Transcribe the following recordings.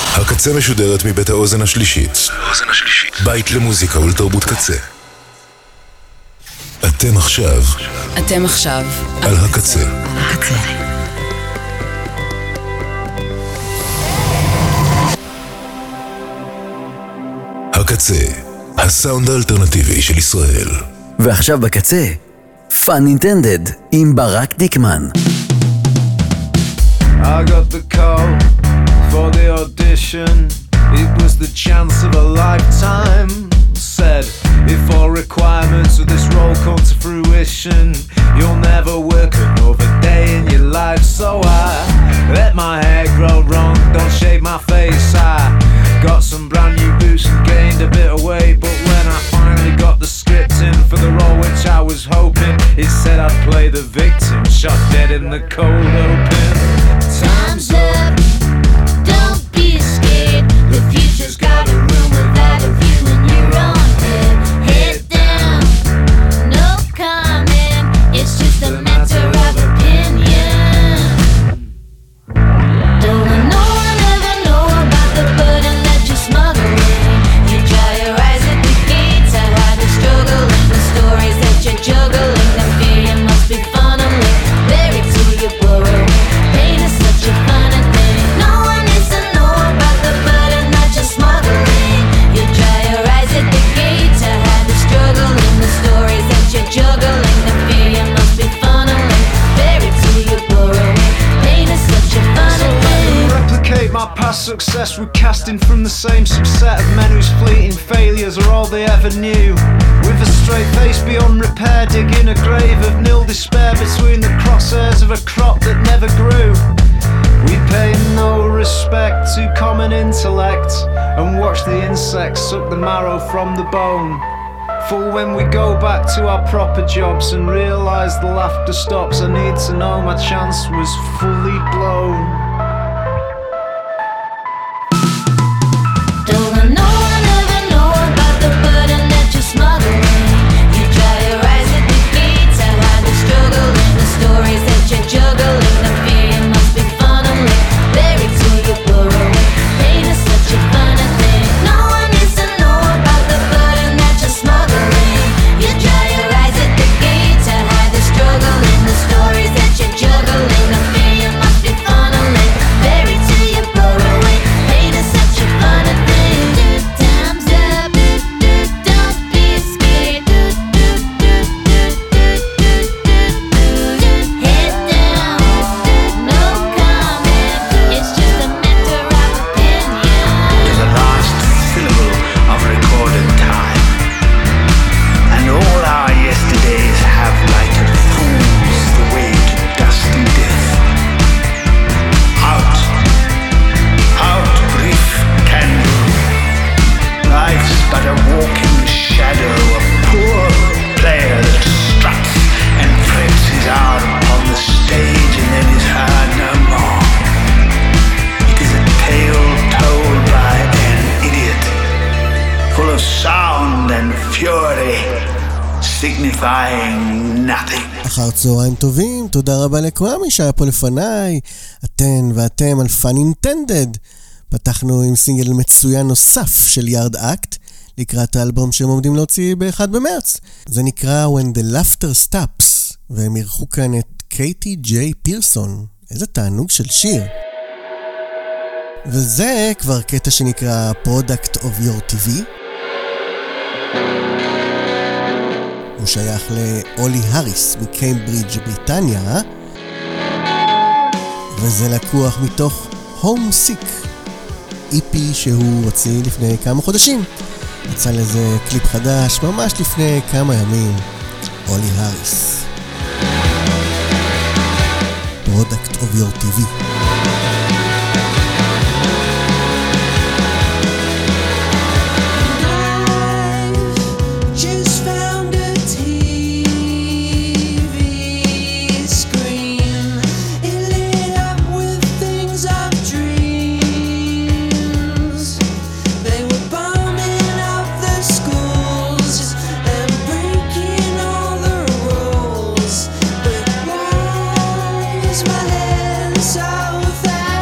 הקצה משודרת מבית האוזן השלישית. בית למוזיקה ולתרבות קצה. אתם עכשיו על הקצה. הקצה, הסאונד האלטרנטיבי של ישראל. ועכשיו בקצה, Fun Intended עם ברק דיקמן. I got the call for the audition. It was the chance of a lifetime. Said, if all requirements of this role come to fruition, you'll never work another day in your life. So I let my hair grow long, don't shave my face. I got some brand new boots and gained a bit of weight. But when I finally got the script in for the role which I was hoping, it said I'd play the victim, shot dead in the cold open. Time's up, don't be scared. The future's got a room without a view in your own head. Head down, no comment. It's just a matter of opinion. Don't no one ever know about the burden that you're smuggling. You dry your eyes at the gates. I had the struggle and the stories that you're juggling. The fear you must be funneling, buried to your burrow. Pain is such a funny thing. No one needs to know about the burden that you're smuggling. You dry your eyes at the gates. I had the struggle and the stories that you're juggling. The fear you must be funneling, buried to your burrow. Pain is such a funny thing. Replicate my past success with casting from the same subset of men whose fleeting failures are all they ever knew. With a straight face beyond repair, digging a grave of nil despair between the crosshairs of a crop that never grew. We pay no respect to common intellect and watch the insects suck the marrow from the bone. For when we go back to our proper jobs and realise the laughter stops, I need to know my chance was fully blown. Don't no one ever know about the burden that you're smuggling. You dry your eyes at the gates. I had the struggle and the stories that you're juggling. The fear you must be funneling, buried to your burrow. Pain is such a funny thing. No one needs to know about the burden that you're smuggling. You dry your eyes at the gates. I had the struggle and the stories that you're juggling. The fear you must be funneling, buried to your burrow. Pain is such a funny thing. Time's up, don't be scared. Head down, no comment. It's just a matter of opinion. To the last syllable of recorded time, and all our yesterdays have lighted fools the way to dusty death. Out, brief candle. Life's but a walking shadow, a poor player that struts and frets his arm upon the stage and then is heard no more. It is a tale told by an idiot, full of sound and fury, signifying nothing. אחר צהריים טובים, תודה רבה לכולם מי שהיה פה לפניי, אתן ואתם על Fun Intended. פתחנו עם סינגל מצוין נוסף של יארד אקט, לקראת האלבום שהם עומדים להוציא ב-1 במרץ. זה נקרא When the Laughter Stops, והם אירחו כאן את קייטי ג'יי פירסון. איזה תענוג של שיר. וזה כבר קטע שנקרא Product of Your TV. הוא שייך לאולי הריס מקיימברידג' בריטניה, וזה לקוח מתוך Homesick, EP שהוא הוציא לפני כמה חודשים. יצא לזה קליפ חדש ממש לפני כמה ימים. אולי הריס, Product of Your TV. My head south.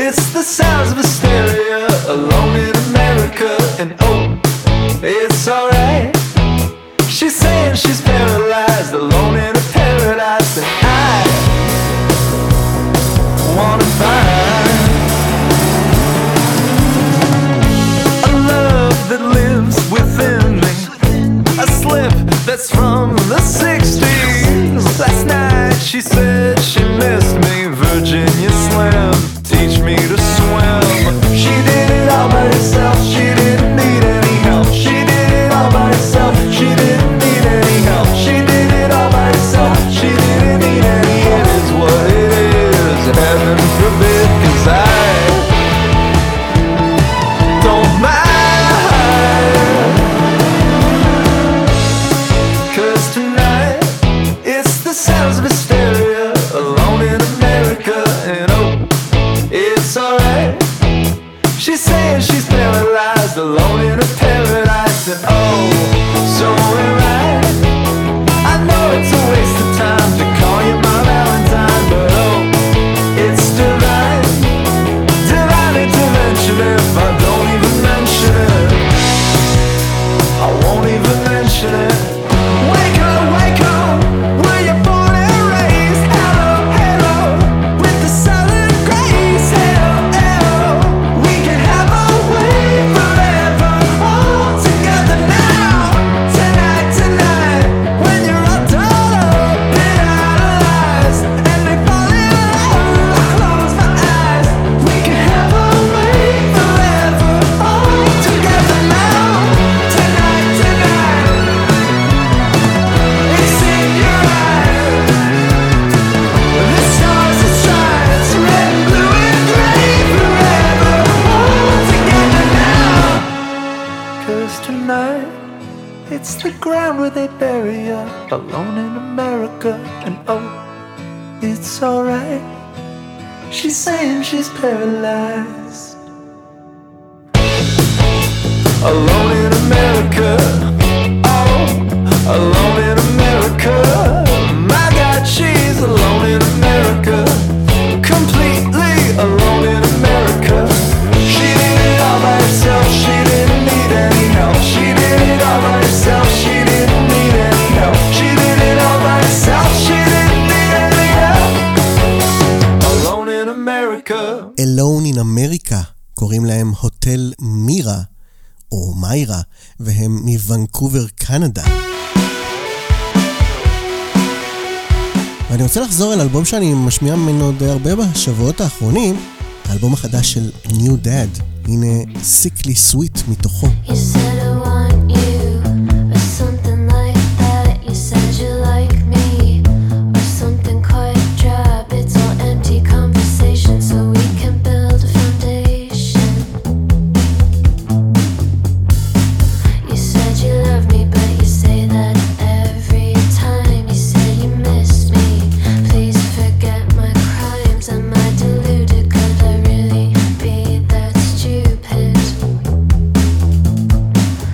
It's the sounds of hysteria, alone in America, and oh, it's alright. She's saying she's paralyzed, alone in a paradise, and I wanna find a love that lives within me, a slip that's from the 60s. Last night she said she missed me, Virginia Slim, teach me to swim. She did it all by herself, she didn't need any help. She did it all by herself, she didn't need any help. She did it all by herself, she didn't need any help. It is what it is, heaven forbid, 'cause I don't mind. 'Cause tonight it's the sounds of hysteria, alone in America, and oh, it's alright. She's saying she's paralyzed, alone in a paradise, and oh, so am I. I know it's a waste of time to call you my Valentine, but oh, it's divine, divine intervention if I don't even mention it. I won't even mention it. Wake up, where you born and raised. Hello, hello, with the southern grace. Hello, hello, we can have our way forever, all together now. Tonight, tonight, when you're all done up and idolized, and they fall in love, I close my eyes. We can have our way forever, all together now. Tonight, tonight, it's in your eyes. The stars are shines, red, blue, and gray, forever, all together now. 'Cause tonight, it's the ground where they bury you, alone in America, and oh, it's alright. She's saying she's paralyzed, alone in America, oh, alone in America. My God, she's alone in America, completely alone in America. She did it all by herself, she didn't need any help. She did it all by herself, she didn't need any help. She did it all by herself, she didn't need any help. Alone in America. Alone in America, קוראים להם הוטל מירה, או מיירה, והם מוונקובר, קנדה. ואני רוצה לחזור אל אלבום שאני משמיע ממנו די הרבה בשבועות האחרונים, האלבום החדש של New Dad. הנה Sickly Sweet מתוכו. You said I want you, or something like that. You said you like me, or something quite drab. It's all empty conversation, so we can build a foundation. You said you love me, but you say that every time. You say you miss me, please forget my crimes. Am I deluded? Could I really be that stupid?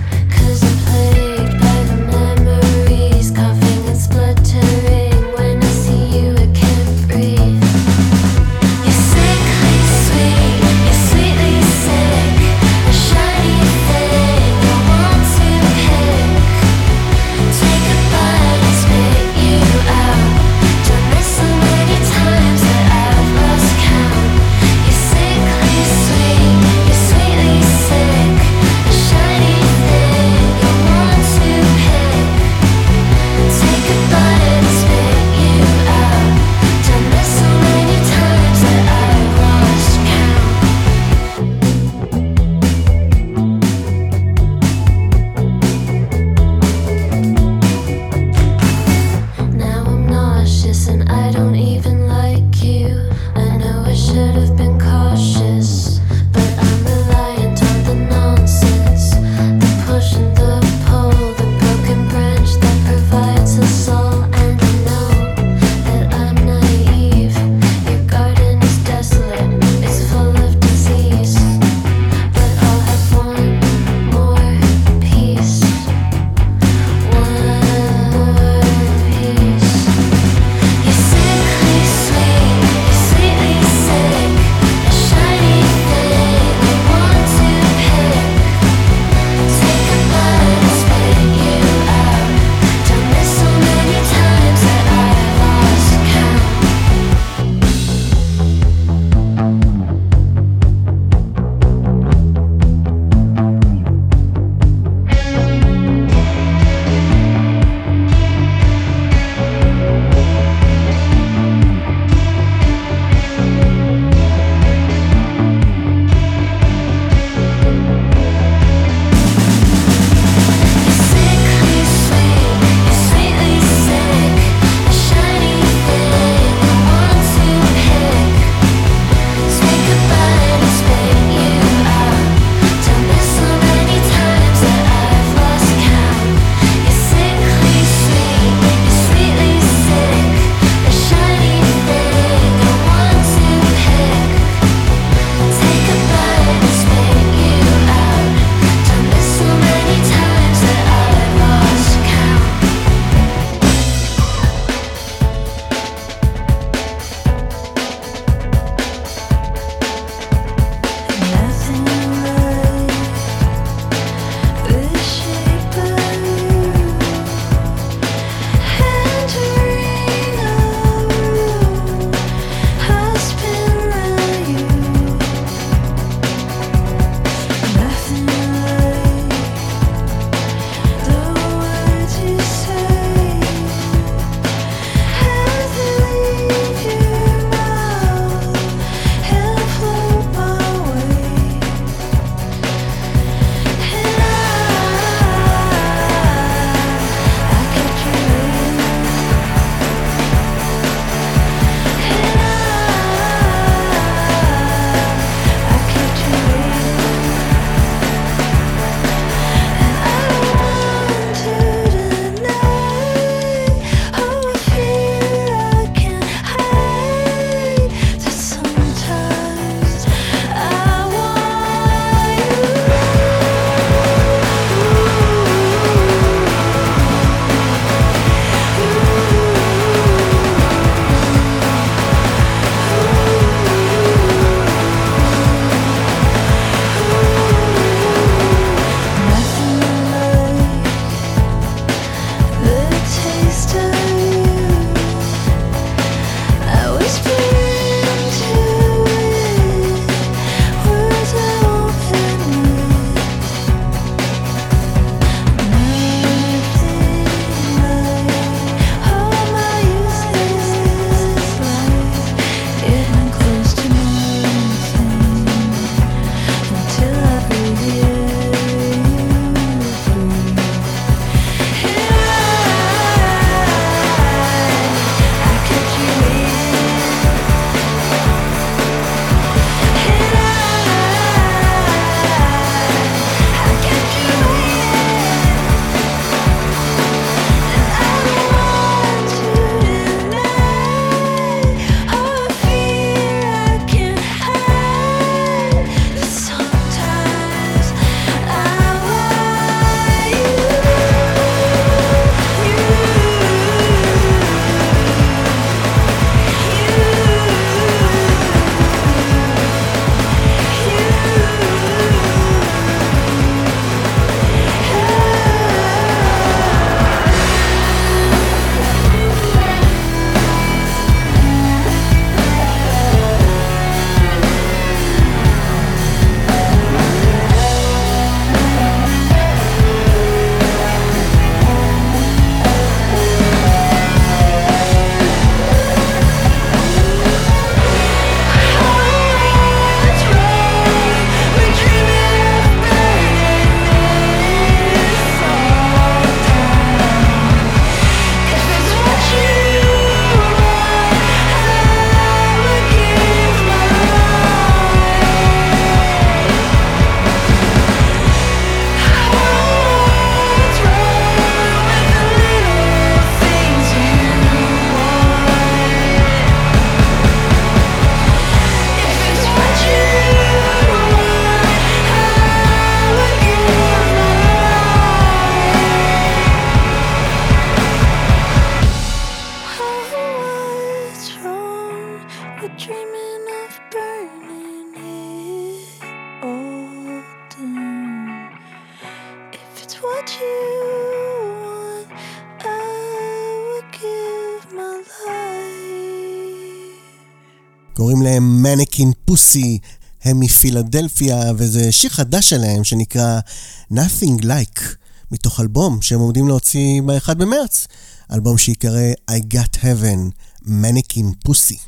קוראים להם מניקין פוסי, הם מפילדלפיה, וזה שיר חדש שלהם שנקרא Nothing Like, מתוך אלבום שהם עומדים להוציא ב-1 במרץ, אלבום שיקרא I Got Heaven, מניקין פוסי.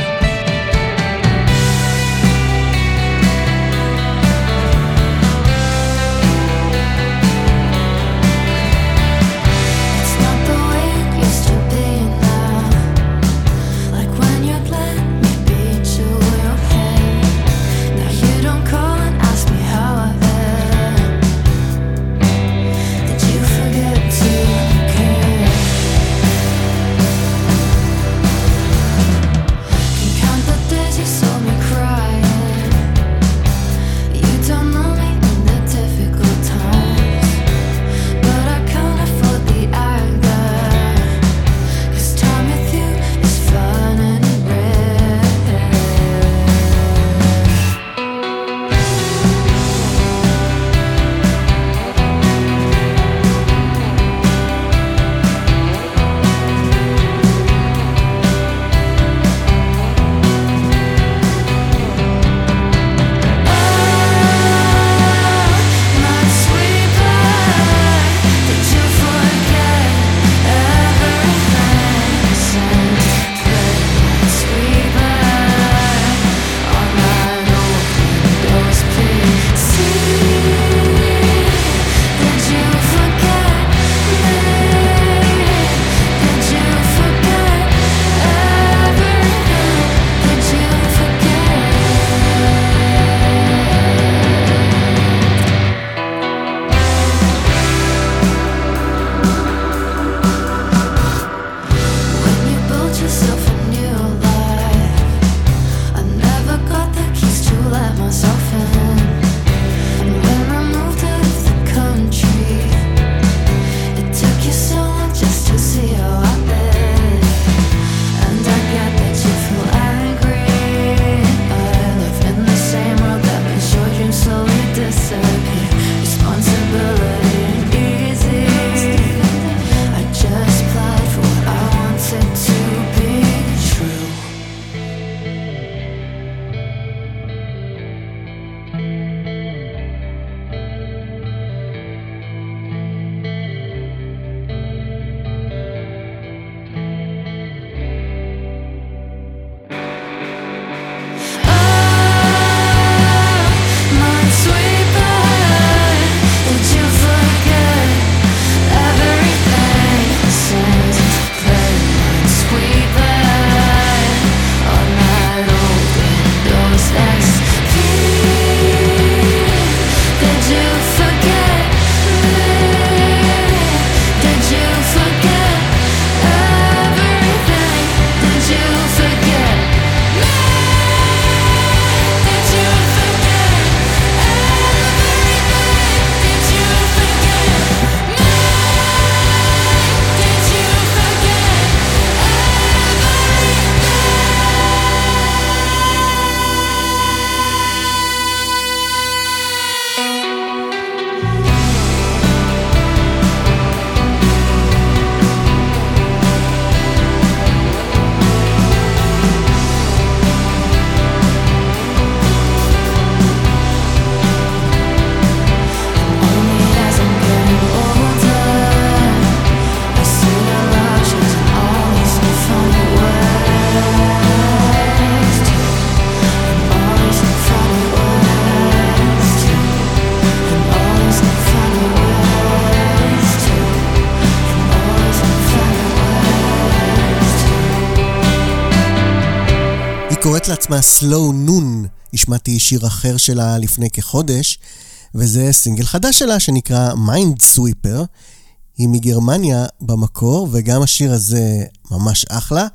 קוראת לעצמה Slow Noon, השמעתי שיר אחר שלה לפני כחודש, וזה סינגל חדש שלה שנקרא Mind Sweeper. היא מגרמניה במקור, וגם השיר הזה ממש אחלה.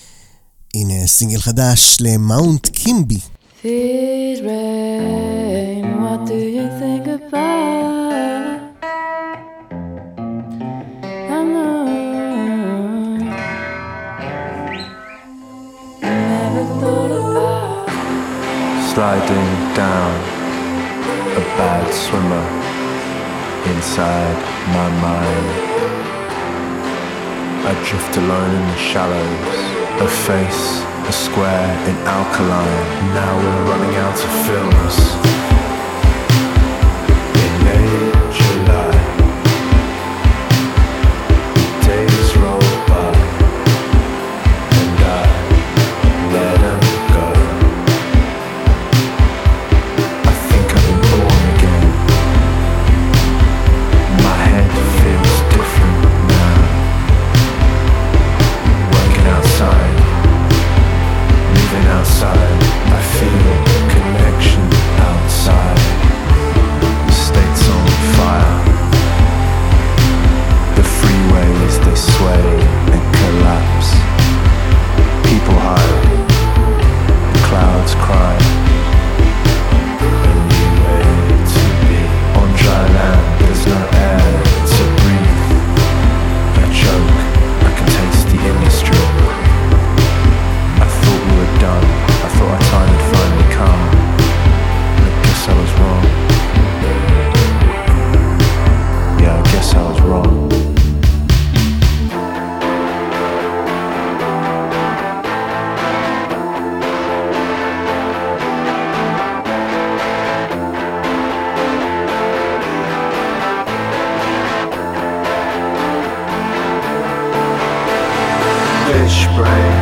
הנה סינגל חדש למאונט קימבי. Feed rain, what do you think about? I know never thought about sliding down a bad swimmer inside my mind. I drift alone in the shallows, a face a square in alkaline. Now we're running out of films. In late July, days roll by, and I let them go. I think I've been born again. My head feels different now. Working outside, living outside, I feel connection outside. The state's on fire. The freeways, they sway and collapse. People hide, the clouds cry. A new way to be. On dry land, there's no air to breathe. I choke, I can taste the industry. I thought we were done. I thought our time had finally come. I guess I was wrong. Yeah, I guess I was wrong. Fish brain.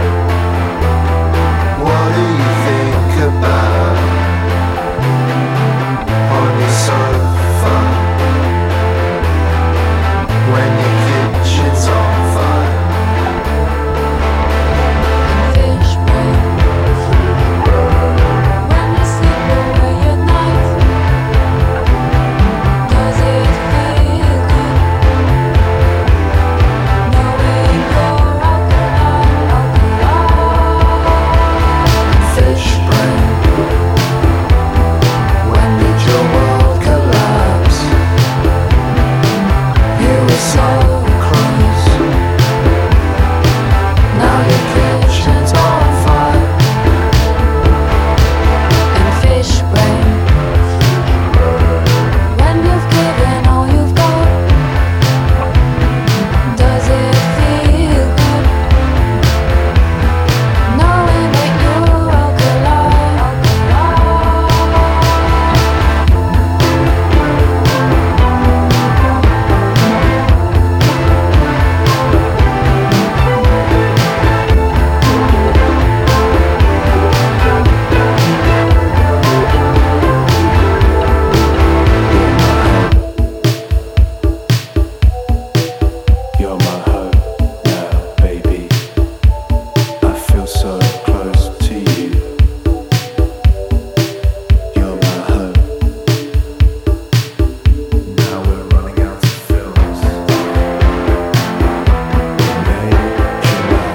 What do you think about on your sofa when your kitchen's on fire? Fish brain. When you sleep away at night, does it feel good? Knowing you're alkaline. Fish brain. When did your world collapse? You were so close. Now your kitchen's on fire. And fish brain. When you've given all you've got, does it feel good? Knowing that you're alkaline. You're my hope now, baby. I feel so close to you. You're my hope. Now we're running out of films. In May, July,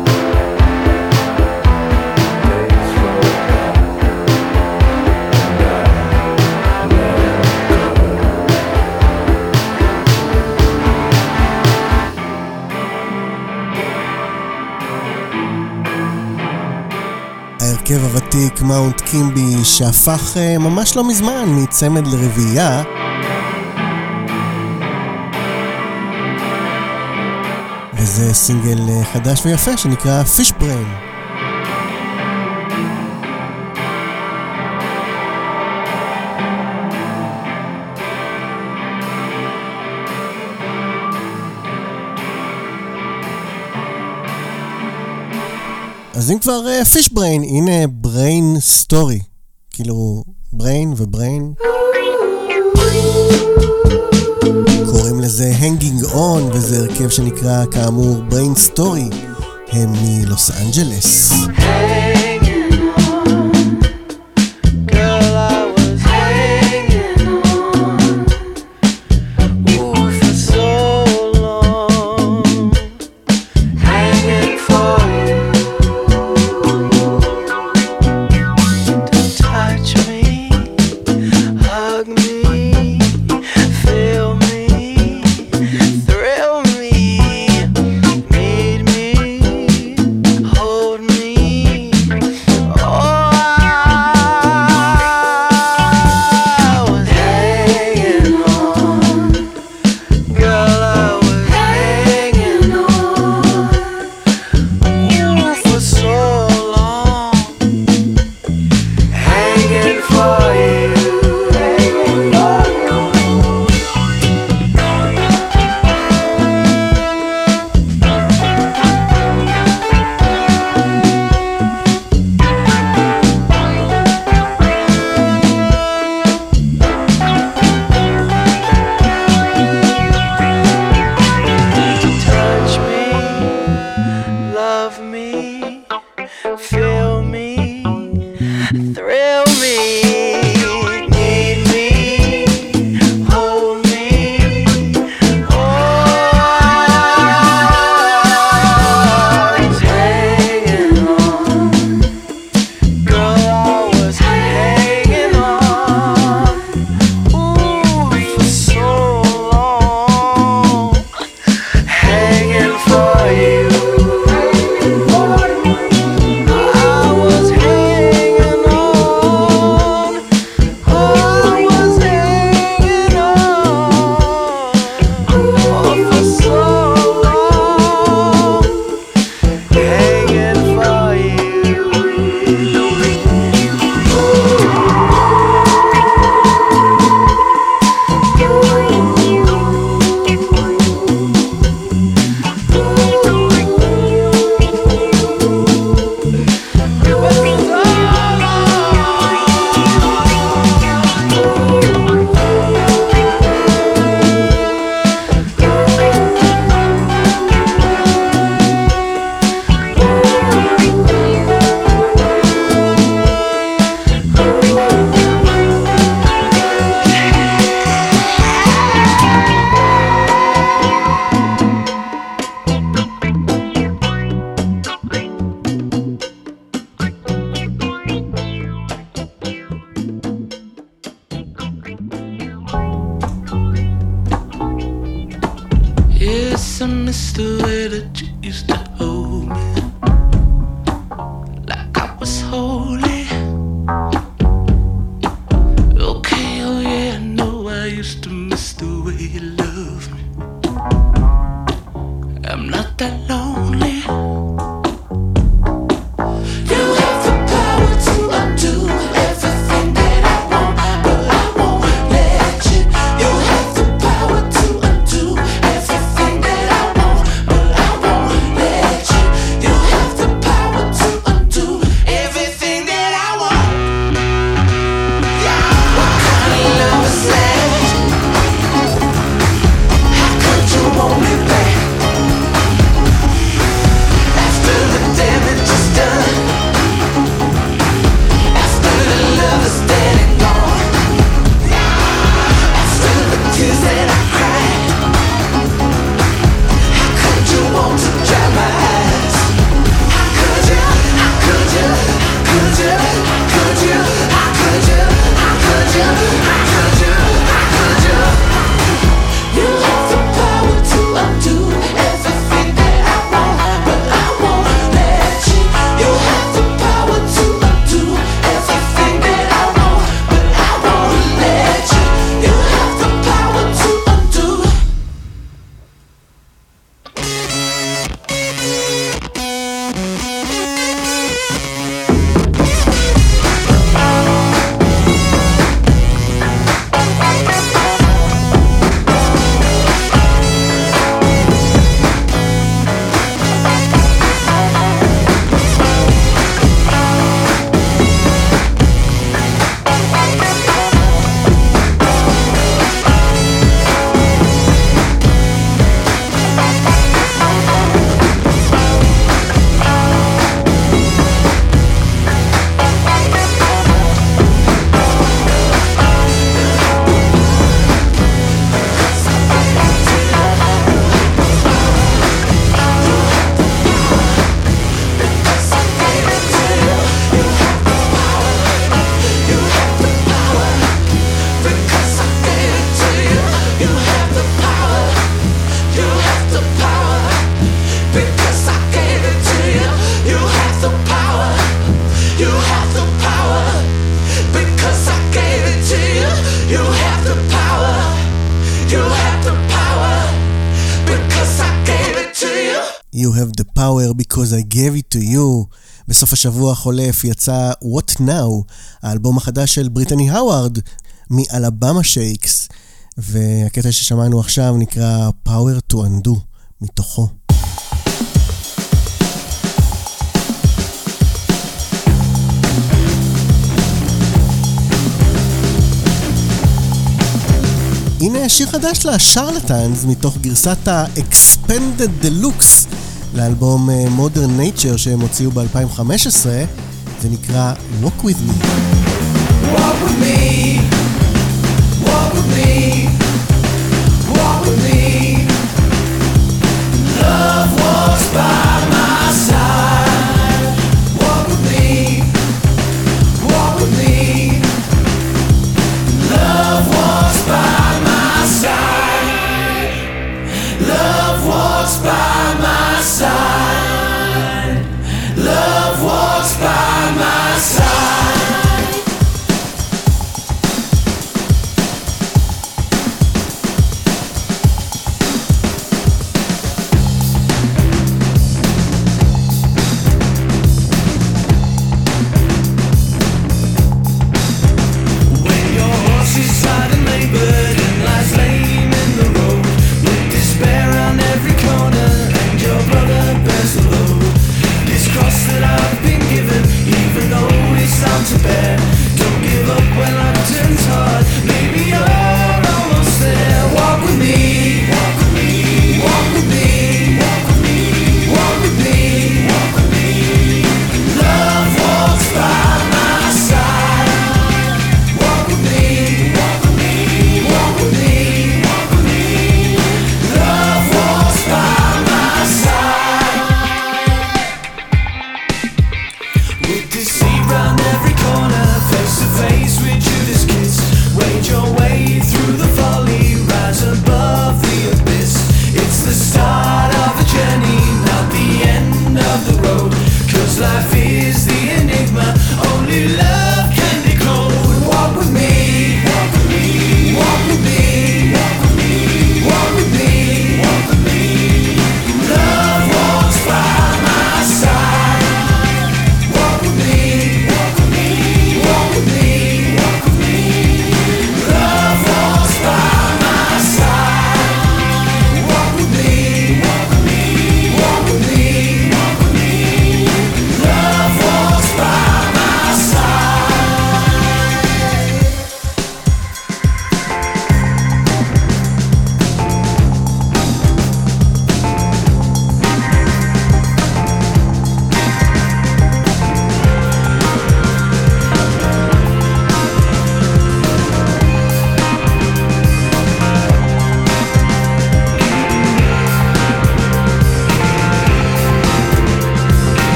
days roll by, and I let them go. ההרכב הוותיק מאונט קימבי שהפך ממש לא מזמן מצמד לרביעייה. וזה סינגל חדש ויפה שנקרא Fish Brain. אז אם כבר Fish Brain, הנה Brain Story. כאילו Brain ובריין. קוראים לזה Hanging On, וזה הרכב שנקרא כאמור Brain Story. הם מלוס אנג'לס. Hold me the way that you used to hold me, like I was holy. Okay, oh yeah, I know I used to miss the way you love me. I'm not that lonely. You have the power to undo everything that I want, but I won't let you. You have the power to undo everything that I want, but I won't let you. You have the power to undo everything that I want. Yeah. What kind of love is that? How could you want me back? After the damage is done, after the love is dead and gone, after the tears that I cried, how could you want to dry my eyes? How could you? How could you? How could you? How could you? How could you? How could you? How could you? How could you? You have the power to undo everything that I want, but I won't let you. You have the power to undo everything that I want, but I won't let you. You have the power to undo. Because I gave it to you. You have the power. You have the power. Because I gave it to you. You have the power. You have the power. Because I gave it to you. You have the power because I gave it to you. בסוף השבוע החולף יצא What Now, האלבום החדש של בריטני האווארד מאלבמה שייקס, והקטע ששמענו עכשיו נקרא Power to Undo מתוכו. הנה שיר חדש לשרלטנס מתוך גרסת ה-Expanded Deluxe לאלבום Modern Nature שהם הוציאו ב-2015. זה נקרא Walk With Me. Walk with me. Walk with me. Walk with me. Love walks by my side. Walk with me. Walk with me. Love walks by my side. Love walks by my side. Love walks by my side.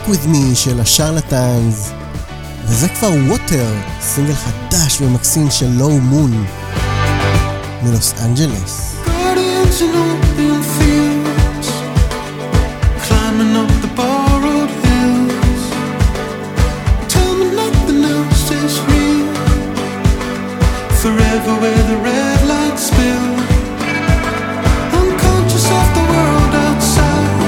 Walk With Me של השרלטנס, וזה כבר ווטר, סינגל חדש ומקסים של לואו מון מלוס אנג'לס. Gardens and open fields, climbing up the borrowed hills. Tell me nothing else is real. Forever where the red lights spill. I'm conscious of the world outside,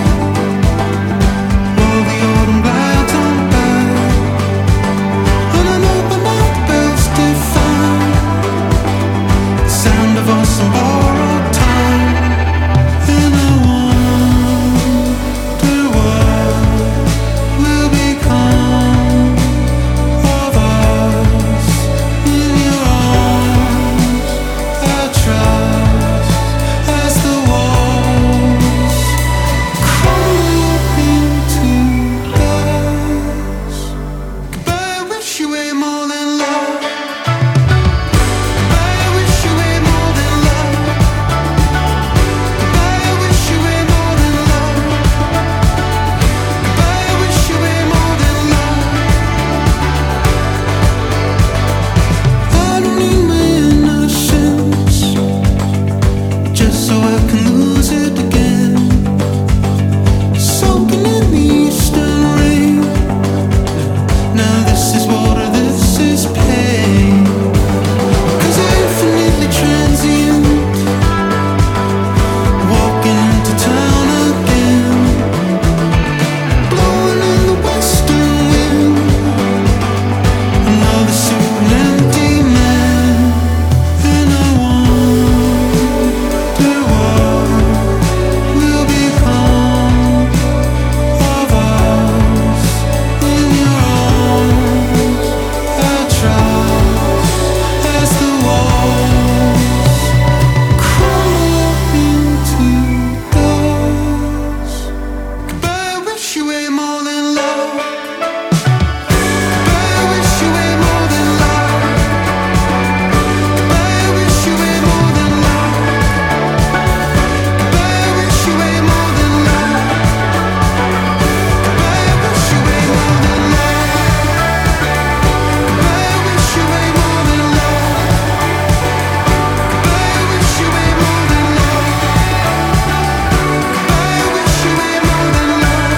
while the autumn glides on by. And I know by now the bells define the sound of us and borrowed time. And I wonder what will become of us in your arms. I trust as the walls crumble into dust. Goodbye, I wish you way more than love. Goodbye, I wish you way more than love. Goodbye, I wish you way more than love. Goodbye, I wish you way more than love. I don't need my innocence, just so I can lose it again. Soaking in the eastern rain. Now this is water, this is pain. 'Cause I'm infinitely transient, walking into town again, blowing in the western wind. Another suit and empty man. And I wonder what will become of us in your arms. I trust as the walls crumble into dust. Goodbye, I wish you way more than love. Goodbye, I wish you way more than love. Goodbye, I wish you way more than love. Goodbye, I wish you way more than love. Goodbye, I wish you way more than love. Goodbye, I wish you way more than love. Goodbye, I wish you way more than love. Goodbye, I wish you way more than love.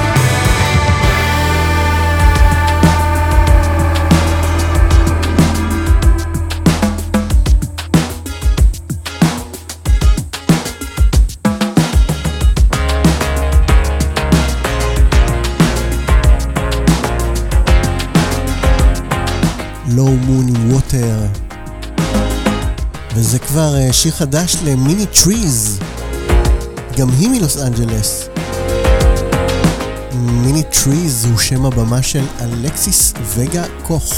לואו מון עם ווטר, וזה כבר שיר חדש למיני טריז, גם היא מלוס אנג'לס. מיני טריז הוא שם הבמה של אלכסיס וגה קוך,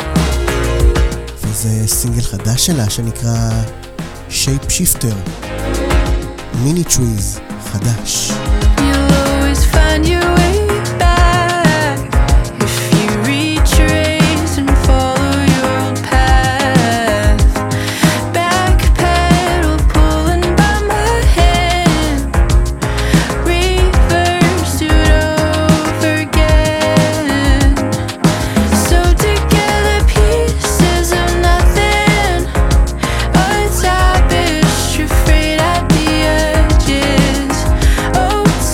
וזה סינגל חדש שלה שנקרא שייפ שיפטר. מיני טריז חדש. You'll always find your way back if you retrace and follow your own path. Backpedal, pulling by my hand. Reverse it over again. So together, pieces of nothing. A tapestry frayed at the edges. Oh,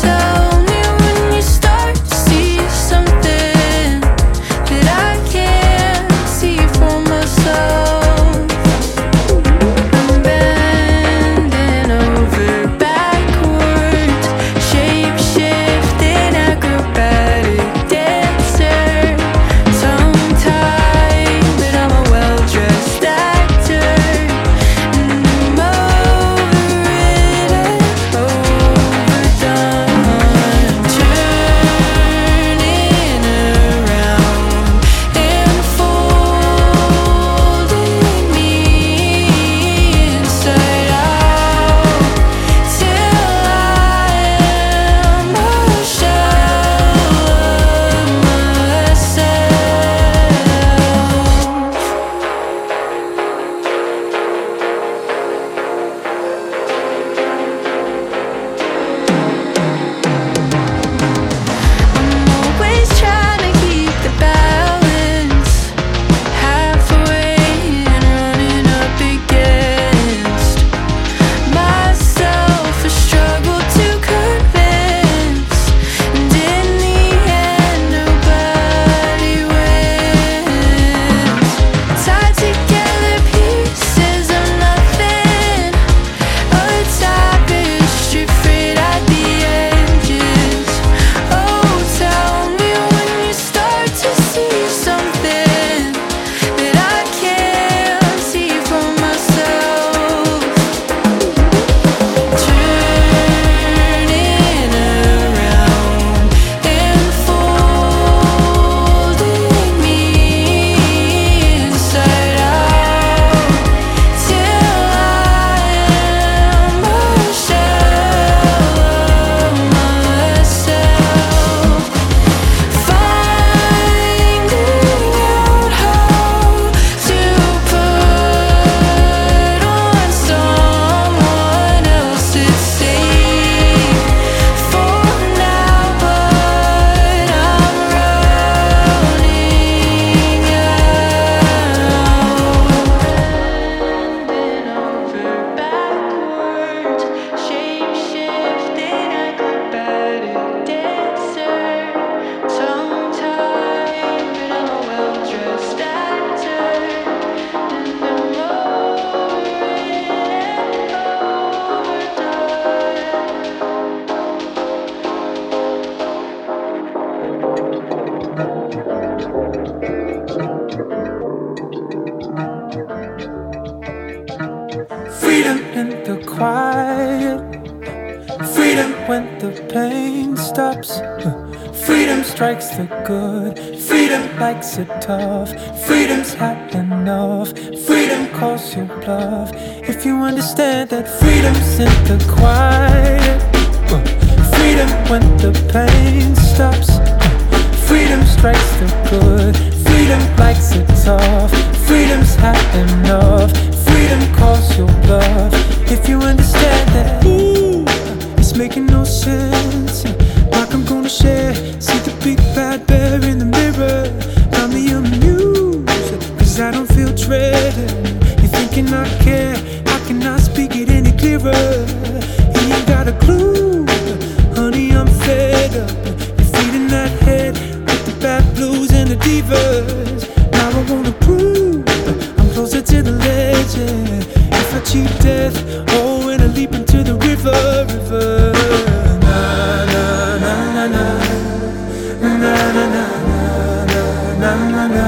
the quiet. Freedom when the pain stops. Freedom strikes the good. Freedom likes it tough. Freedom's had enough. Freedom calls your bluff. If you understand that freedom's in the quiet. Freedom when the pain stops. Freedom strikes the good. Freedom likes it tough. Freedom's had enough. Freedom calls your bluff. If you understand that, ooh, it's making no sense. Like I'm gonna share. See the big bad bear in the mirror. Got me amused, cause I don't feel dreaded. You're thinking I care, I cannot speak it any clearer. You ain't got a clue, honey, I'm fed up. You're feeding that head with the bad blues and the divas. Now I wanna prove I'm closer to the legend. If I cheat death, oh, and I leap into the river. Na na na na na na na na na na na na.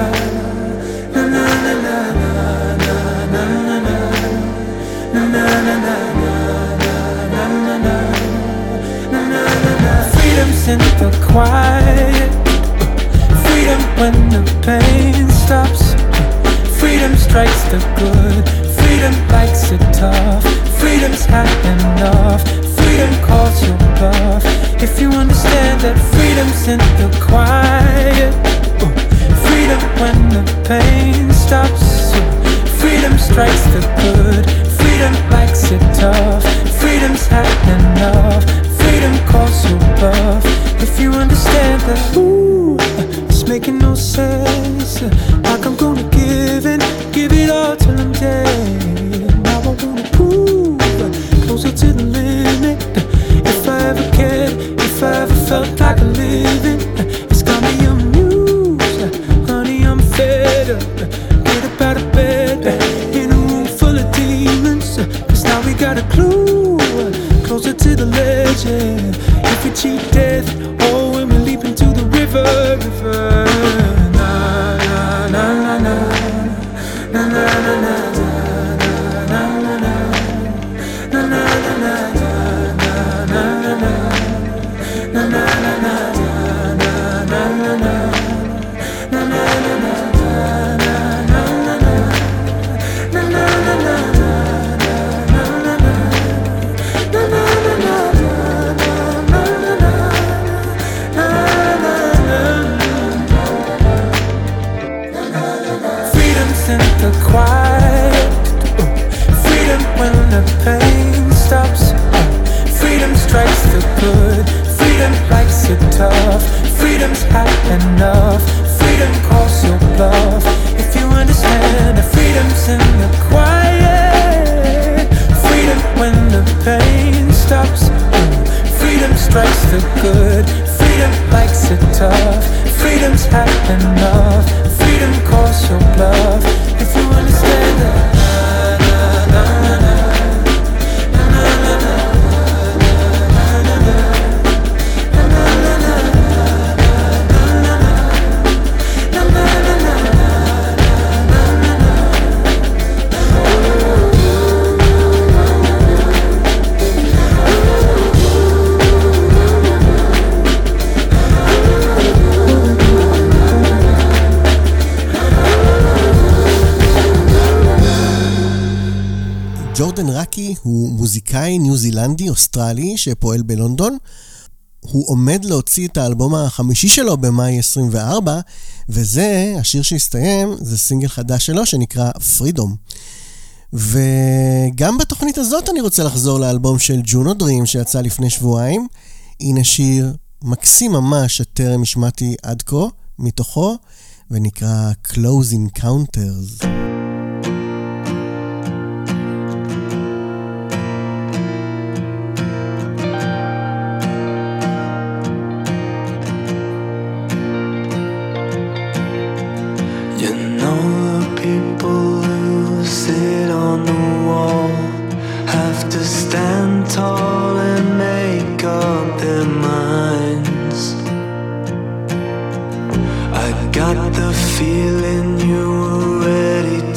Freedom's in the quiet. Freedom when the pain stops. Freedom strikes the good. Freedom likes it tough. Freedom's had enough. Freedom calls your bluff. If you understand that freedom's in the quiet. Freedom when the pain stops. Freedom strikes the good. Freedom likes it tough. Freedom's had enough. Freedom calls your bluff. If you understand that, ooh, it's making no sense. Like I'm gonna give it all till I'm dead. Now I wanna prove closer to the limit. If I ever cared, if I ever felt like a living, it's got me amused. Honey, I'm fed up. Get up out of bed in a room full of demons. Cause now we got a clue, closer to the legend. If we cheat death, oh, when we leap into the river. Na na na na na na na na na. Quiet. Freedom when the pain stops. Freedom strikes the good. Freedom likes it tough. Freedom's had enough. Freedom calls your bluff. If you understand that freedom's in the quiet. Freedom when the pain stops. Freedom strikes the good. Freedom likes it tough. Freedom's had enough. Freedom calls your bluff. If you understand that. ג'ורדן ראקי הוא מוזיקאי ניו זילנדי אוסטרלי שפועל בלונדון. הוא עומד להוציא את האלבום החמישי שלו במאי 24, וזה, השיר שהסתיים, זה סינגל חדש שלו שנקרא פרידום. וגם בתוכנית הזאת אני רוצה לחזור לאלבום של ג'ונו דרים שיצא לפני שבועיים. הנה שיר מקסים ממש שטרם השמעתי עד כה מתוכו, ונקרא Close Encounters. Tall and make up their minds. I got the feeling you were ready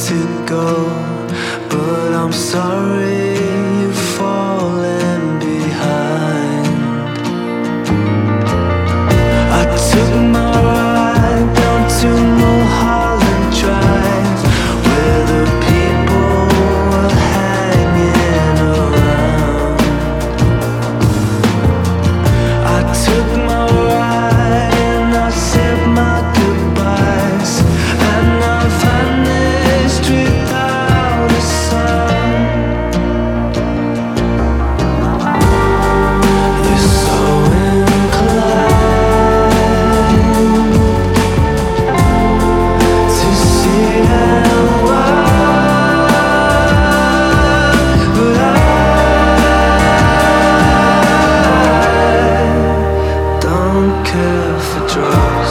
care for drugs.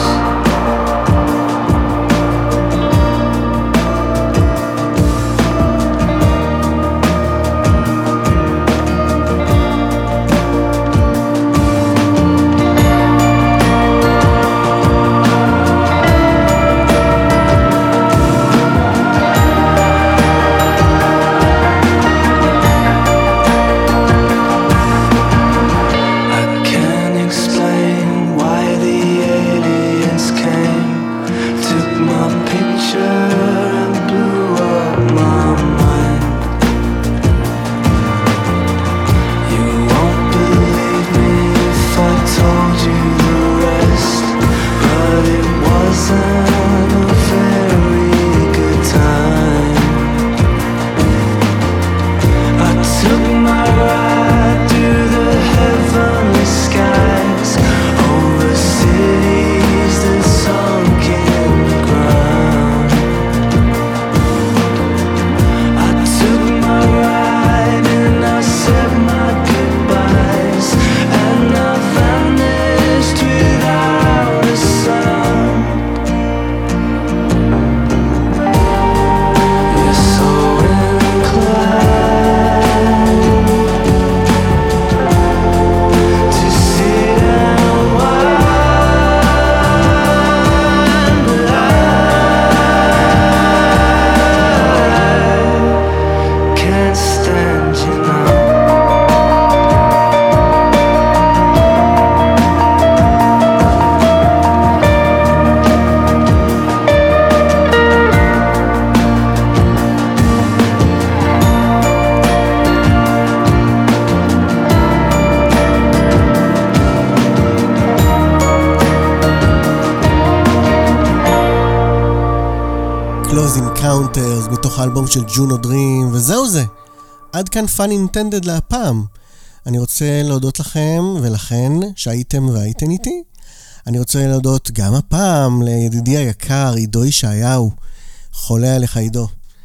מתוך האלבום של ג'ונו דרים, וזהו זה. עד כאן Fun Intended להפעם. אני רוצה להודות לכם ולכן שהייתם והייתן איתי. אני רוצה להודות גם הפעם לידידי היקר עידו ישעיהו. חולה עליך עידו.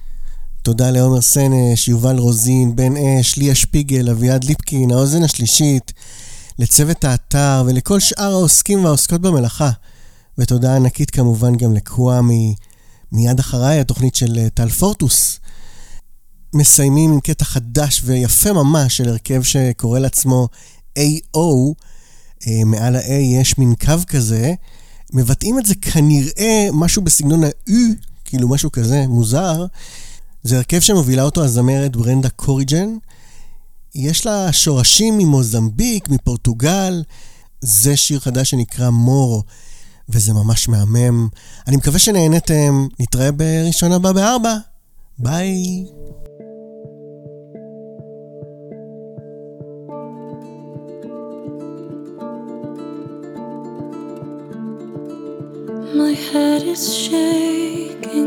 תודה לעומר סנש, יובל רוזין, בן אש, ליה שפיגל, אביעד ליפקין, האוזן השלישית, לצוות האתר ולכל שאר העוסקים והעוסקות במלאכה. ותודה ענקית כמובן גם לקוואמי. מיד אחריי התוכנית של טל פורטוס. מסיימים עם קטע חדש ויפה ממש של הרכב שקורא לעצמו AO. מעל ה-A יש מין קו כזה. מבטאים את זה כנראה משהו בסגנון ה-U, כאילו משהו כזה מוזר. זה הרכב שמובילה אותו הזמרת ברנדה קוריג'ן. יש לה שורשים ממוזמביק, מפורטוגל. זה שיר חדש שנקרא מורו. וזה ממש מהמם. אני מקווה שנהנתם. נתראה בראשון הבא ב-4. ביי. My head is shaking,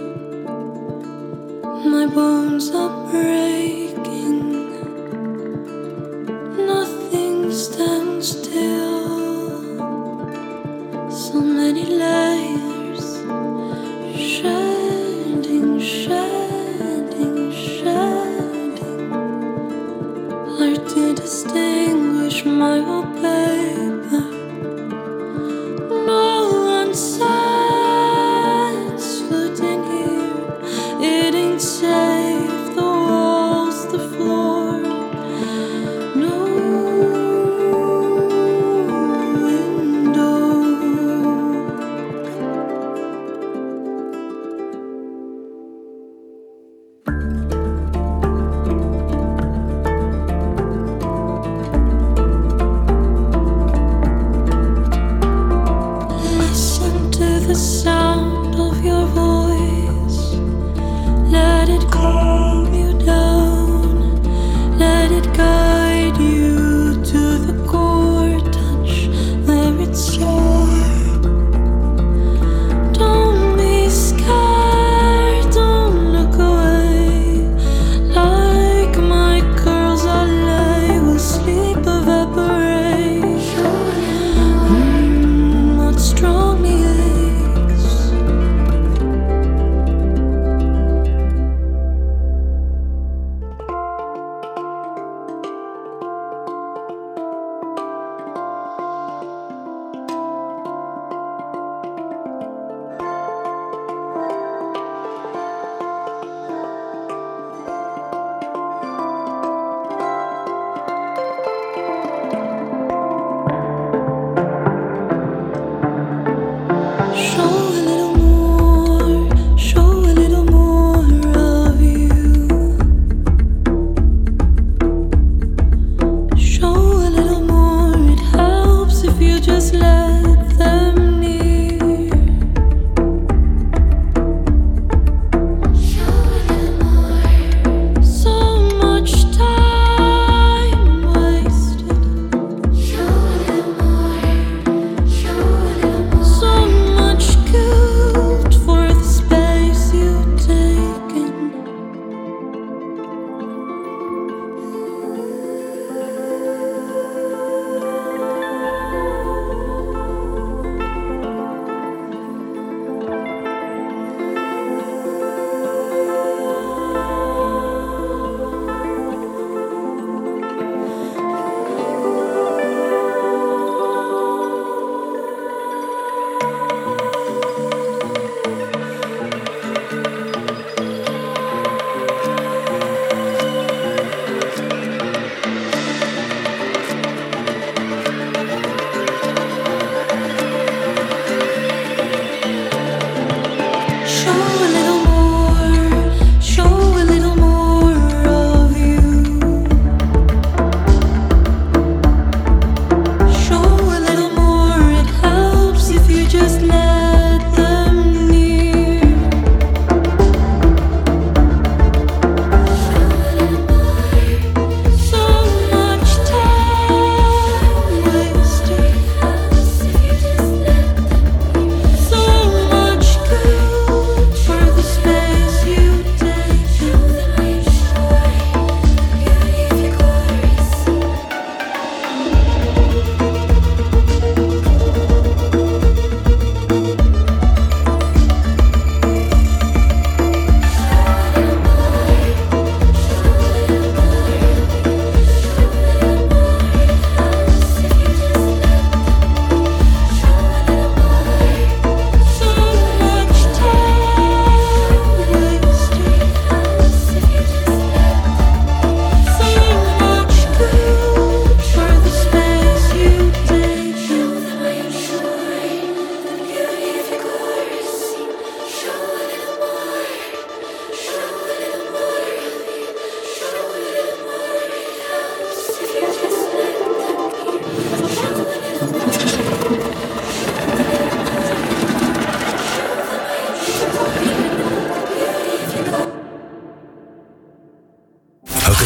my bones are breaking, nothing stands still. So many layers, shedding, shedding, shedding. Hard to distinguish my wallpaper. No one sighs floating here. It ain't safe. The walls, the floor. No window.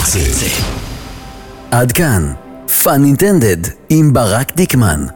הקצה. עד כאן, פאן אינטנדד עם ברק דיקמן.